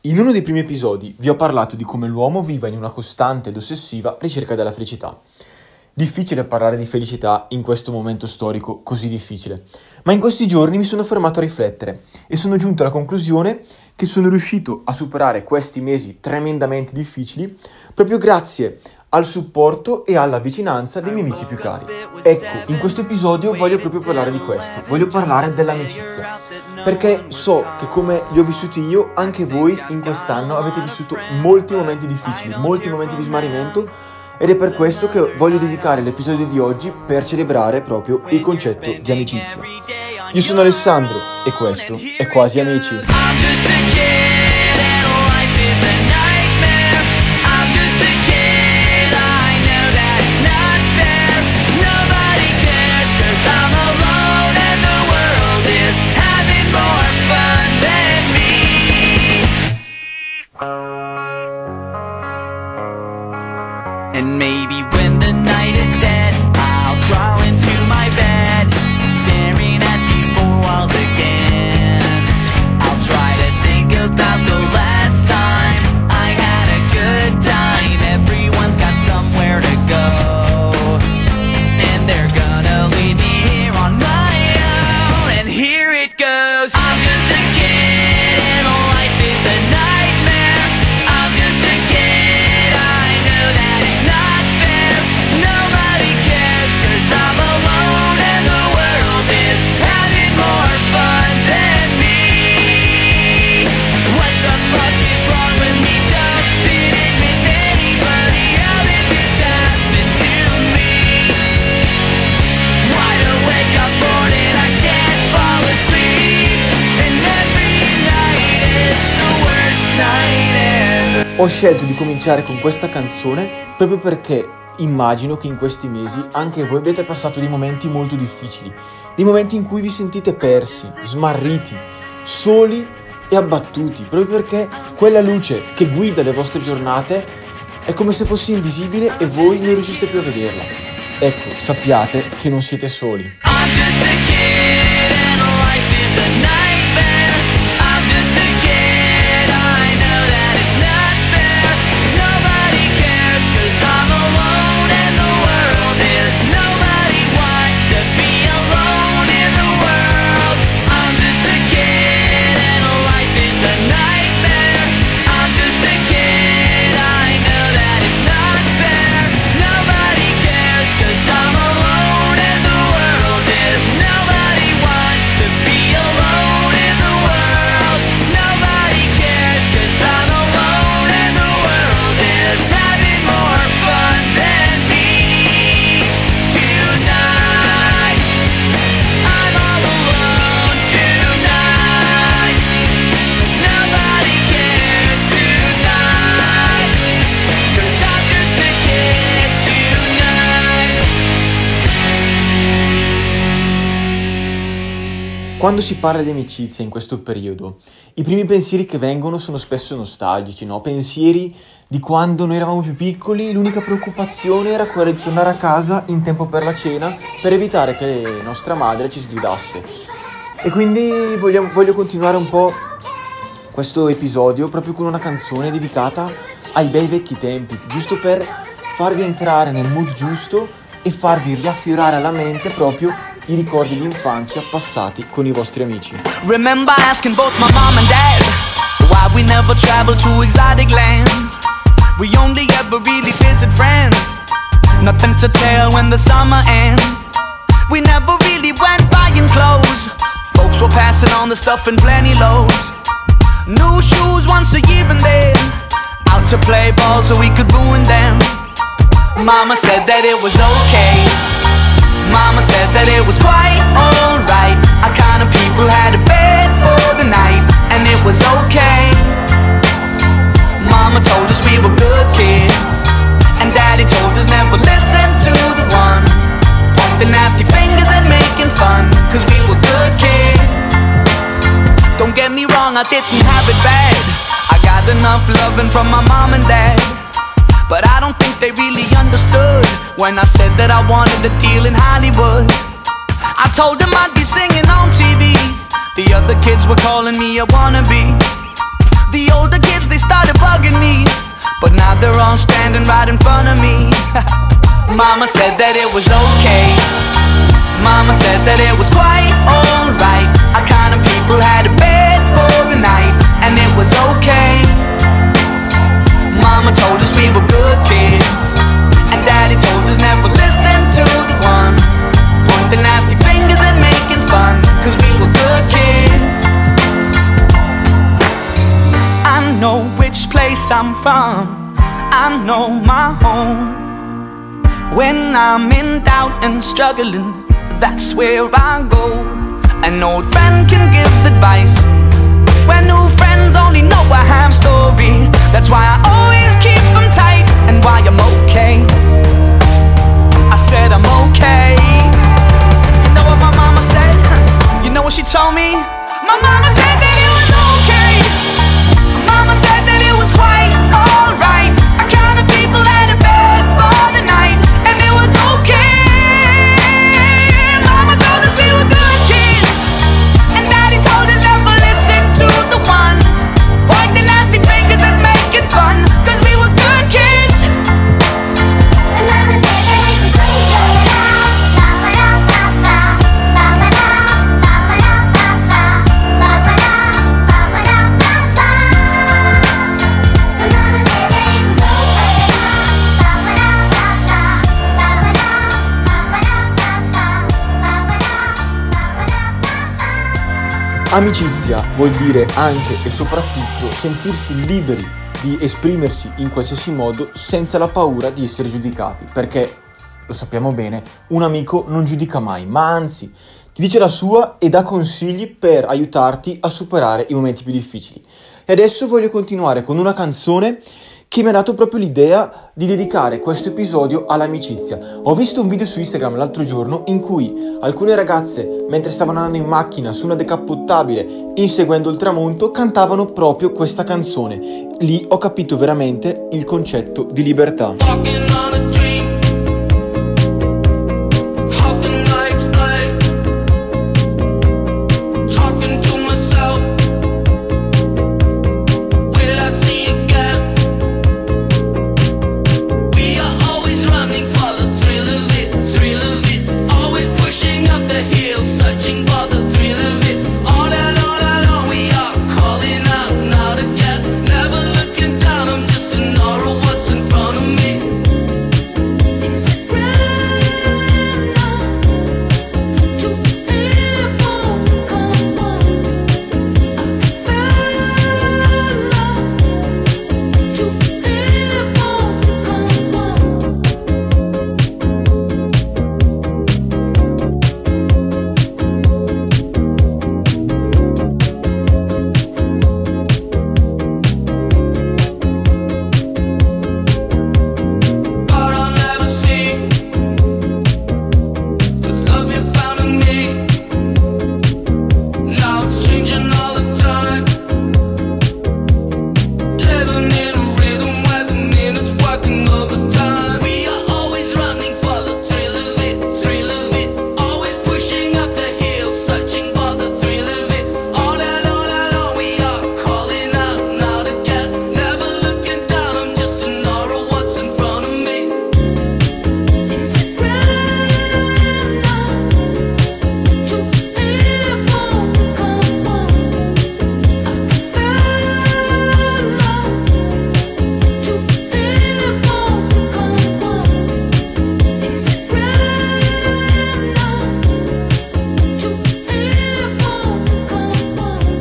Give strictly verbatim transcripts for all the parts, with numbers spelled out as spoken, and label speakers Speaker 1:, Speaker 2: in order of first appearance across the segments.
Speaker 1: In uno dei primi episodi vi ho parlato di come l'uomo viva in una costante ed ossessiva ricerca della felicità. Difficile parlare di felicità in questo momento storico così difficile, ma in questi giorni mi sono fermato a riflettere e sono giunto alla conclusione che sono riuscito a superare questi mesi tremendamente difficili proprio grazie al supporto e alla vicinanza dei miei amici più cari. Ecco, in questo episodio voglio proprio parlare di questo, voglio parlare dell'amicizia, perché so che come li ho vissuti io, anche voi in quest'anno avete vissuto molti momenti difficili, molti momenti di smarrimento, ed è per questo che voglio dedicare l'episodio di oggi per celebrare proprio il concetto di amicizia. Io sono Alessandro e questo è Quasi Amici.
Speaker 2: And maybe when the night is dead, I'll crawl into my bed, staring at these four walls again. I'll try to think about the last time I had a good time. Everyone's got somewhere to go, and they're gonna leave me here on my own. And here it goes. I'm just a kid and life is a nightmare. I'm just a kid, I know that it's not fair. Nobody cares cause I'm alone and the world is having more fun than me. What the fuck is wrong with me? Don't fit in with anybody. How did this happen to me? Wide awake, I'm bored and I can't fall asleep. And every night is the worst night ever.
Speaker 1: Ho scelto di cominciare con questa canzone proprio perché immagino che in questi mesi anche voi abbiate passato dei momenti molto difficili, dei momenti in cui vi sentite persi, smarriti, soli e abbattuti, proprio perché quella luce che guida le vostre giornate è come se fosse invisibile e voi non riusciste più a vederla. Ecco, sappiate che non siete soli.
Speaker 2: I'm just a kid and life is a nightmare. I'm just a kid, I know that it's not fair. Nobody cares cause I'm alone and the world is. Nobody wants to be alone in the world. I'm just a kid and life is a nightmare. I'm just a kid, I know that it's not fair. Nobody cares cause I'm alone and the world is. Nobody wants to be alone in the world. Nobody cares cause I'm alone and the world is having more fun than me. Tonight I'm all alone tonight. Nobody cares tonight cause I'm just a kid tonight.
Speaker 1: Quando si parla di amicizia in questo periodo, i primi pensieri che vengono sono spesso nostalgici, no? Pensieri di quando noi eravamo più piccoli, l'unica preoccupazione era quella di tornare a casa in tempo per la cena per evitare che nostra madre ci sgridasse. E quindi vogliamo- voglio continuare un po' questo episodio proprio con una canzone dedicata ai bei vecchi tempi, giusto per farvi entrare nel mood giusto e farvi riaffiorare alla mente proprio i ricordi di infanzia passati con i vostri amici.
Speaker 2: Remember asking both my mom and dad why we never traveled to exotic lands. We only ever really visit friends. Nothing to tell when the summer ends. We never really went buying clothes. Folks were passing on the stuff in plenty loads. New shoes once a year and then out to play ball so we could ruin them. Mama said that it was okay. Mama said that it was quite alright. Our kind of people had a bed for the night, and it was okay. Mama told us we were good kids, and Daddy told us never listen to the ones pointing nasty fingers and making fun, cause we were good kids. Don't get me wrong, I didn't have it bad. I got enough loving from my mom and dad, but I don't think they really understood when I said that I wanted a deal in Hollywood. I told them I'd be singing on T V. The other kids were calling me a wannabe. The older kids, they started bugging me, but now they're all standing right in front of me. Mama said that it was okay. Mama said that it was quite alright. Our kind of people had a bed for the night, and it was okay. Mama told us we were good kids, and Daddy told us never listen to the ones pointing nasty fingers and making fun, cause we were good kids. I know which place I'm from, I know my home. When I'm in doubt and struggling, that's where I go. An old friend can give advice when new friends only know a half story. That's why I always keep them tight, and why I'm okay. I said I'm okay. You know what my mama said? You know what she told me? My mama said that it was okay. Mama said that it was quite alright. Our kind of people had a bed for the night, and it was okay. Mama told us we were good kids, and Daddy told us never listen to the ones pointing nasty fingers and making fun, cause we were good kids.
Speaker 3: And Mama said that it was okay.
Speaker 1: Amicizia vuol dire anche e soprattutto sentirsi liberi di esprimersi in qualsiasi modo senza la paura di essere giudicati, perché, lo sappiamo bene, un amico non giudica mai, ma anzi ti dice la sua e dà consigli per aiutarti a superare i momenti più difficili. E adesso voglio continuare con una canzone che mi ha dato proprio l'idea di dedicare questo episodio all'amicizia. Ho visto un video su Instagram l'altro giorno in cui alcune ragazze, mentre stavano andando in macchina su una decappottabile inseguendo il tramonto, cantavano proprio questa canzone. Lì ho capito veramente il concetto di libertà.
Speaker 4: Walking on a dream. How can I explain? Talking to myself. Will I see again? We are always running for the thrill of it, thrill of it. Always pushing up the hill, searching for the thrill of it. All alone, alone, we are calling out now again. Never looking down, I'm just an aura of what's in front of me. Is it right now to hear more? Come on, I feel love to hear more. Come on. Thought I'll never see the love you found in me. Now it's changing all the time. Living in a rhythm where the minutes working overtime. We are always running for the thrill of it, thrill of it. Always pushing up the hill, searching for the thrill of it. All alone, alone, we are calling out now again. Never looking down, I'm just an aura of what's in front of me. Is it right now to hear more? Come on, I feel love to hear more. Come on, is it right now to hear more? Come on, I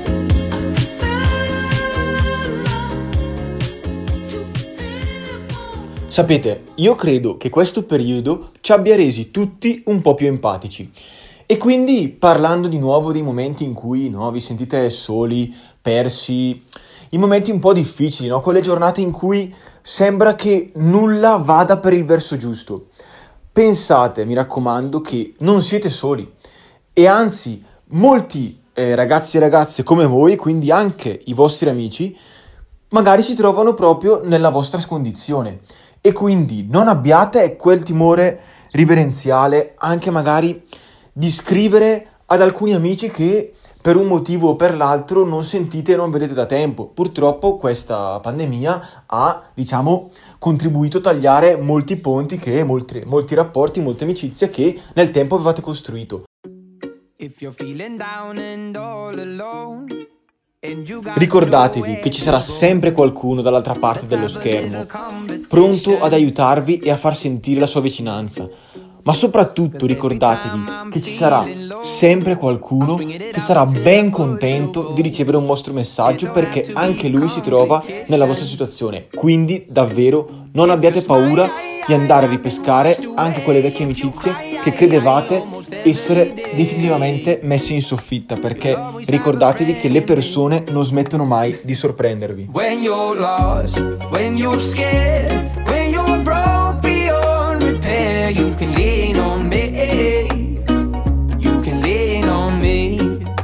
Speaker 4: feel love to hear more.
Speaker 1: Sapete, io credo che questo periodo ci abbia resi tutti un po' più empatici. E quindi, parlando di nuovo dei momenti in cui, no, vi sentite soli, persi, i momenti un po' difficili, no? Quelle giornate in cui sembra che nulla vada per il verso giusto. Pensate, mi raccomando, che non siete soli. E anzi, molti eh, ragazzi e ragazze come voi, quindi anche i vostri amici, magari si trovano proprio nella vostra condizione. E quindi non abbiate quel timore riverenziale anche magari di scrivere ad alcuni amici che per un motivo o per l'altro non sentite e non vedete da tempo. Purtroppo questa pandemia ha, diciamo, contribuito a tagliare molti ponti, che molti, molti rapporti, molte amicizie che nel tempo avevate costruito.
Speaker 5: If you're feeling down and all alone, and you got
Speaker 1: Ricordatevi
Speaker 5: nowhere
Speaker 1: che ci
Speaker 5: to
Speaker 1: sarà
Speaker 5: go,
Speaker 1: sempre qualcuno dall'altra parte
Speaker 5: let's
Speaker 1: dello
Speaker 5: have a
Speaker 1: schermo,
Speaker 5: little conversation.
Speaker 1: pronto ad aiutarvi e a far sentire la sua vicinanza. Ma soprattutto ricordatevi che ci sarà sempre qualcuno che sarà ben contento di ricevere un vostro messaggio, perché anche lui si trova nella vostra situazione. Quindi davvero non abbiate paura di andare a ripescare anche quelle vecchie amicizie che credevate essere definitivamente messe in soffitta, perché ricordatevi che le persone non smettono mai di sorprendervi.
Speaker 5: When you're lost, when you're scared, when you're broke beyond repair, you can lean on me, you can lean on me.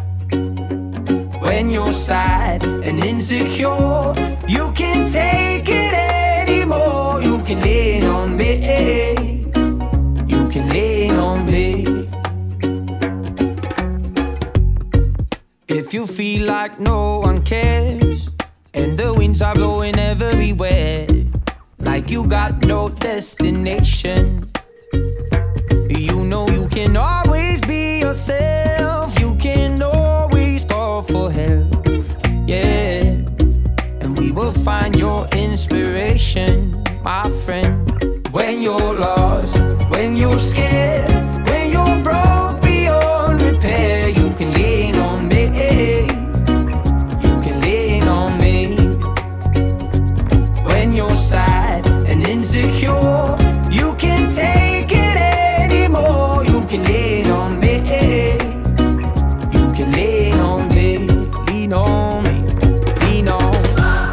Speaker 5: When you're sad and insecure, you can take it anymore, you can lean on me, you can lean on me. If you feel like no one cares and the winds are blowing everywhere, like you got no destination, you know you can always be yourself, you can always call for help, yeah, and we will find your inspiration, my friend. When you're lost, when you're scared, when you're broke beyond repair, you can lean on me, you can lean on me. When you're sad and insecure, you can take it anymore, you can lean on me, you can lean on me, lean on me, lean on me.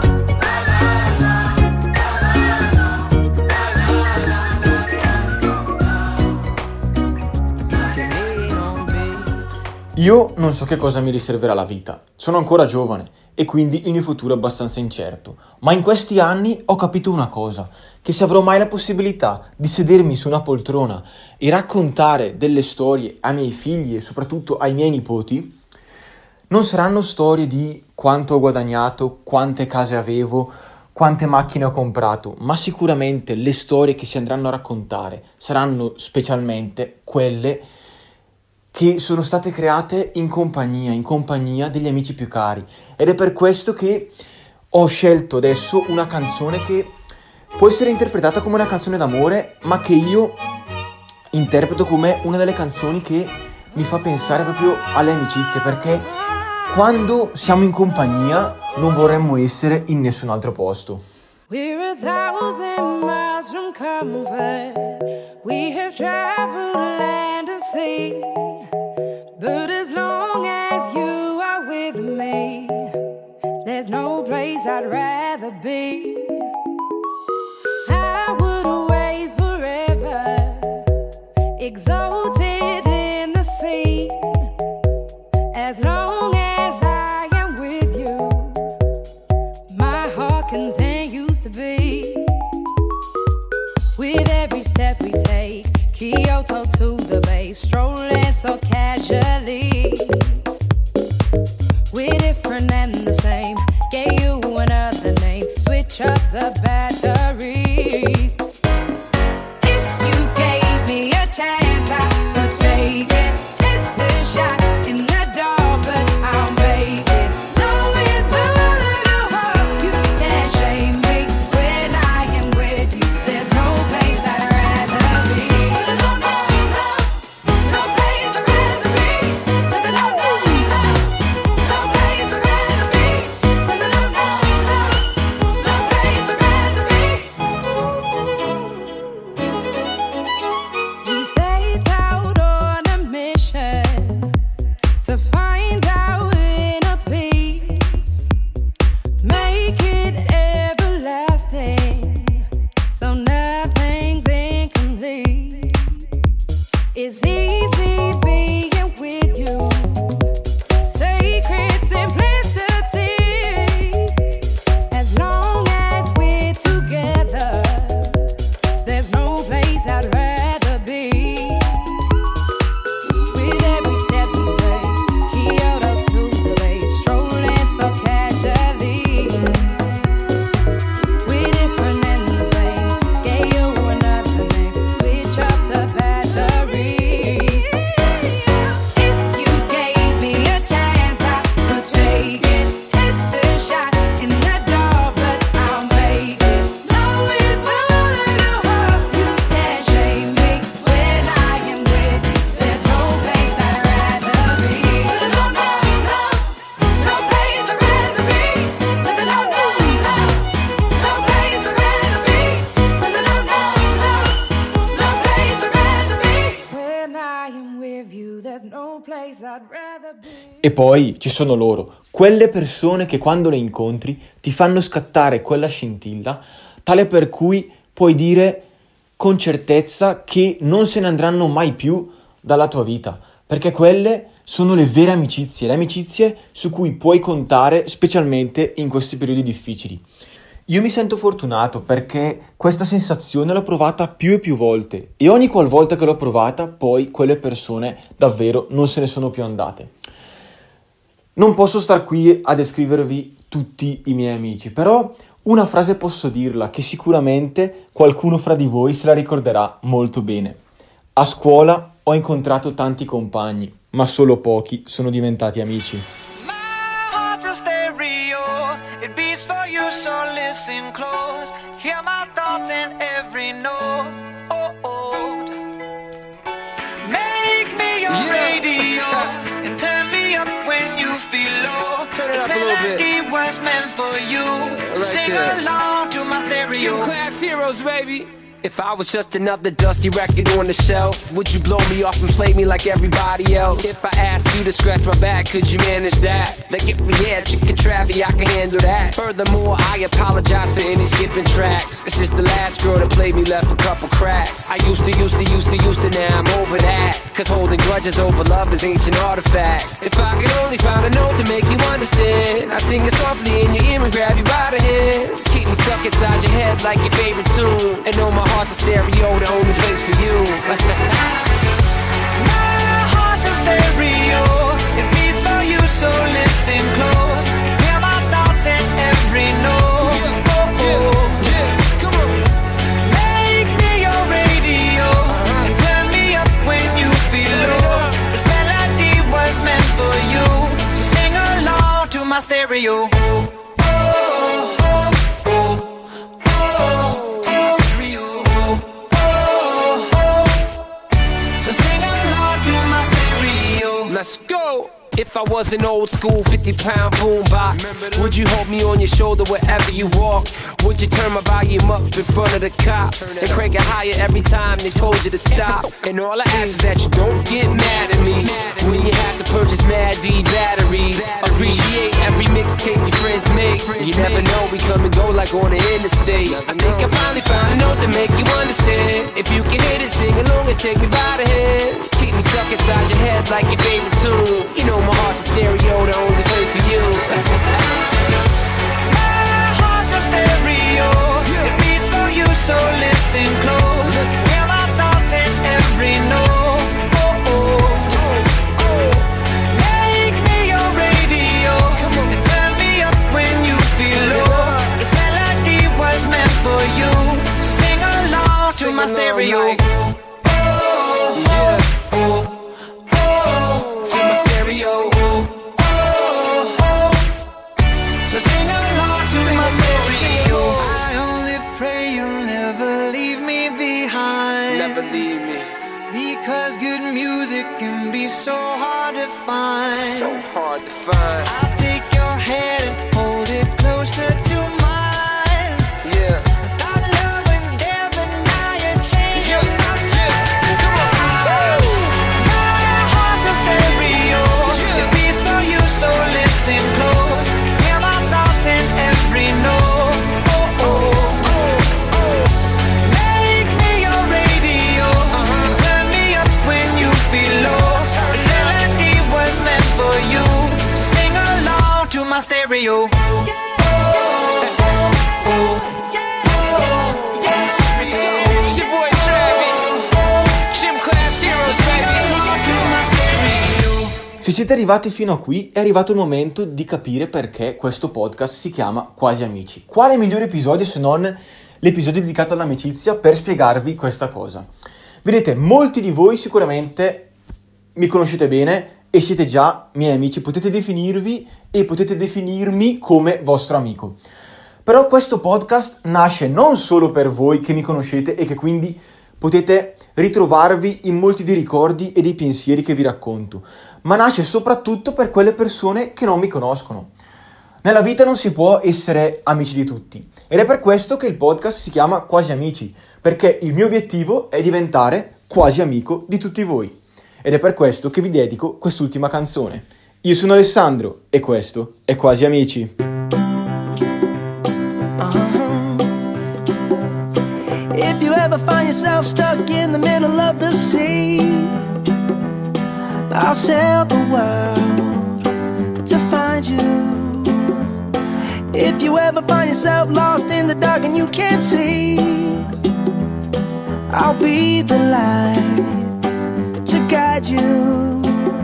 Speaker 1: Io non so che cosa mi riserverà la vita, sono ancora giovane e quindi il mio futuro è abbastanza incerto, ma in questi anni ho capito una cosa, che se avrò mai la possibilità di sedermi su una poltrona e raccontare delle storie ai miei figli e soprattutto ai miei nipoti, non saranno storie di quanto ho guadagnato, quante case avevo, quante macchine ho comprato, ma sicuramente le storie che si andranno a raccontare saranno specialmente quelle che sono state create in compagnia, in compagnia degli amici più cari. Ed è per questo che ho scelto adesso una canzone che può essere interpretata come una canzone d'amore, ma che io interpreto come una delle canzoni che mi fa pensare proprio alle amicizie, perché quando siamo in compagnia non vorremmo essere in nessun altro posto.
Speaker 6: We're a thousand miles from comfort. We have traveled land and sea. But as long as you are with me, there's no place I'd rather be. I would away forever, exalted in the sea. As long as I am with you, my heart continues to beat. With every step we take, Kyoto to the bay, strolling so casually. We're different and the same, gave you another name, switch up the batteries. If you gave me a chance, I would take it. It's a shot in the dark, but I'll make it. Knowing the little heart, you can't shame me. When I am with you, there's no place I'd rather be. No, no, no, no place I'd rather be. No, no, no, no, no place I'd rather be. No, no, no, no, no place I'd rather 'cause I'd rather be.
Speaker 1: E poi ci sono loro, quelle persone che quando le incontri ti fanno scattare quella scintilla, tale per cui puoi dire con certezza che non se ne andranno mai più dalla tua vita, perché quelle sono le vere amicizie, le amicizie su cui puoi contare specialmente in questi periodi difficili. Io mi sento fortunato perché questa sensazione l'ho provata più e più volte e ogni qualvolta che l'ho provata poi quelle persone davvero non se ne sono più andate. Non posso star qui a descrivervi tutti i miei amici, però una frase posso dirla che sicuramente qualcuno fra di voi se la ricorderà molto bene. A scuola ho incontrato tanti compagni, ma solo pochi sono diventati amici.
Speaker 7: My heart's a stereo, it beats for you, so listen close. Hear my thoughts in every note. Oh, oh. Make me your
Speaker 5: Yeah.
Speaker 7: radio and turn me up when you feel low.
Speaker 5: Turn it
Speaker 7: This
Speaker 5: up a little
Speaker 7: melody was meant for you, so
Speaker 5: right
Speaker 7: sing
Speaker 5: there.
Speaker 7: along to my stereo.
Speaker 5: Gym class heroes, baby. If I was just another dusty record on the shelf, would you blow me off and play me like everybody else? If I asked you to scratch my back, could you manage that? Like if we had chicken travi, I can handle that. Furthermore, I apologize for any skipping tracks. It's just the last girl that played me left a couple cracks. I used to, used to, used to, used to, now I'm over that. Cause holding grudges over love is ancient artifacts. If I could only find a note to make you understand, I sing it softly in your ear and grab you by the hands. Keep me stuck inside your head like your favorite tune. And know my heart's a stereo, the only place for you.
Speaker 7: My heart's a stereo, it beats for you, so listen close. Hear my thoughts in every note.
Speaker 5: Yeah,
Speaker 7: Oh, oh.
Speaker 5: yeah, come on.
Speaker 7: Make me your radio and turn me up when you feel low. This melody was meant for you, so sing along to my stereo. Oh, oh, oh, oh, oh, to my stereo. Oh, oh, so sing along to my stereo.
Speaker 5: Let's go! If I was an old school fifty pound boombox, would you hold me on your shoulder wherever you walk? Would you turn my volume up in front of the cops and crank it higher every time they told you to stop? And all I ask is that you don't get mad at me when you have to purchase Mad D batteries. Appreciate every mixtape your friends make. You never know, we come and go like on the interstate. I think I finally found a note to make you understand. If you can hit it, sing along and take me by the hands. Keep me stuck inside your head like your favorite tune. You know my heart's a stereo, the only place for you.
Speaker 7: My heart's a stereo, it beats for you, so listen close. Hear my thoughts in every note. Oh, oh. Make me your radio and turn me up when you feel low. This melody was meant for you, so sing along to my stereo. Oh,
Speaker 5: Yeah.
Speaker 7: oh, oh, to my stereo. Oh, oh. So sing along to my stereo. I only pray you'll never leave me behind.
Speaker 5: Never leave me.
Speaker 7: Because good music can be so hard to find.
Speaker 5: So hard to find.
Speaker 7: I'll take your hand and hold it closer to mine.
Speaker 5: Yeah.
Speaker 7: Thought love was dead, but now you're changing
Speaker 5: Yeah.
Speaker 7: my
Speaker 5: Yeah. Come on.
Speaker 7: mind. My heart's a stereo,
Speaker 5: Yeah.
Speaker 7: it beats for you, so listen close. Hear my thoughts in every note. Oh, oh, oh. Make me your radio and turn me up when you feel low. This melody was meant for you, so sing along to my stereo. Oh, oh, oh, oh.
Speaker 5: It's your boy Travi. Gym class heroes,
Speaker 7: Sing
Speaker 5: baby.
Speaker 7: along to my stereo.
Speaker 1: Se siete arrivati fino a qui, è arrivato il momento di capire perché questo podcast si chiama Quasi Amici. Quale migliore episodio se non l'episodio dedicato all'amicizia per spiegarvi questa cosa? Vedete, molti di voi sicuramente mi conoscete bene e siete già miei amici, potete definirvi e potete definirmi come vostro amico. Però questo podcast nasce non solo per voi che mi conoscete e che quindi potete ritrovarvi in molti dei ricordi e dei pensieri che vi racconto, ma nasce soprattutto per quelle persone che non mi conoscono. Nella vita non si può essere amici di tutti ed è per questo che il podcast si chiama Quasi Amici, perché il mio obiettivo è diventare quasi amico di tutti voi. ed è per questo che vi dedico quest'ultima canzone. Io sono Alessandro e questo è Quasi Amici.
Speaker 8: If you ever find yourself stuck in the middle of the sea, I'll sail the world to find you. If you ever find yourself lost in the dark and you can't see, I'll be the light to guide you.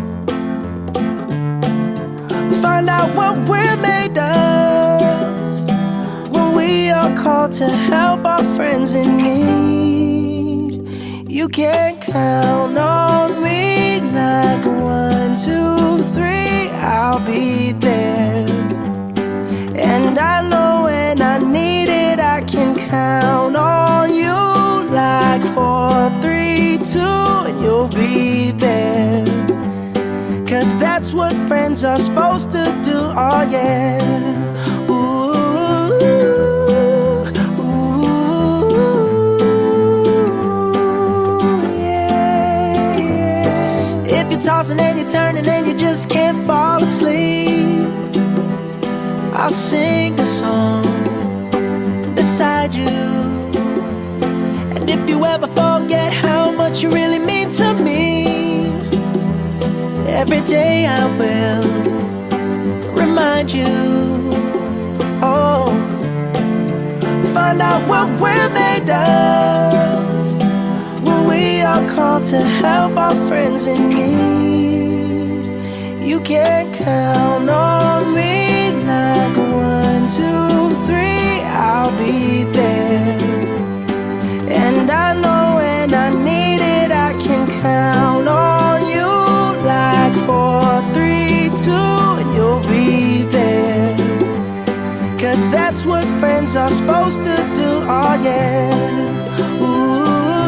Speaker 8: Find out what we're made of when we are called to help our friends in need. You can count on me like one, two, three, I'll be there. And I know when I need it, I can count on you like four, three, two, and you'll be there. Cause that's what friends are supposed to do, oh yeah. Ooh, ooh, yeah, yeah. If you're tossing and you're turning and you just can't fall asleep, I'll sing a song beside you. And if you ever forget how much you really mean to me, every day I will remind you. Oh, find out what we're made of when we are called to help our friends in need. You can count on me like one, two, three, I'll be there. And I know when I need it, I can count on you like four, three, two, and you'll be there. Cause that's what friends are supposed to do, oh yeah. Ooh,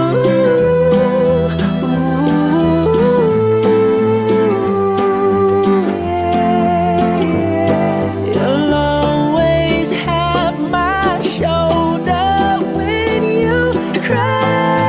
Speaker 8: ooh, yeah, yeah. You'll always have my shoulder when you cry.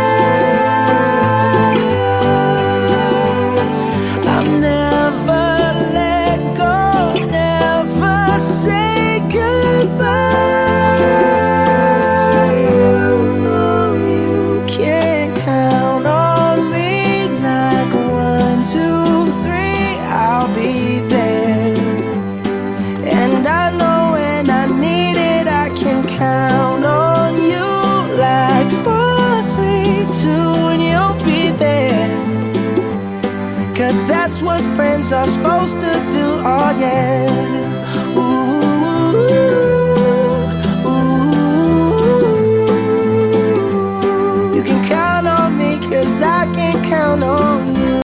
Speaker 8: I'll never let go, never say goodbye. You know you can count on me like one, two, three, I'll be there. And I know when I need it, I can count on you like four, three, two, and you'll be there. Cause that's what friends are supposed to do, oh yeah.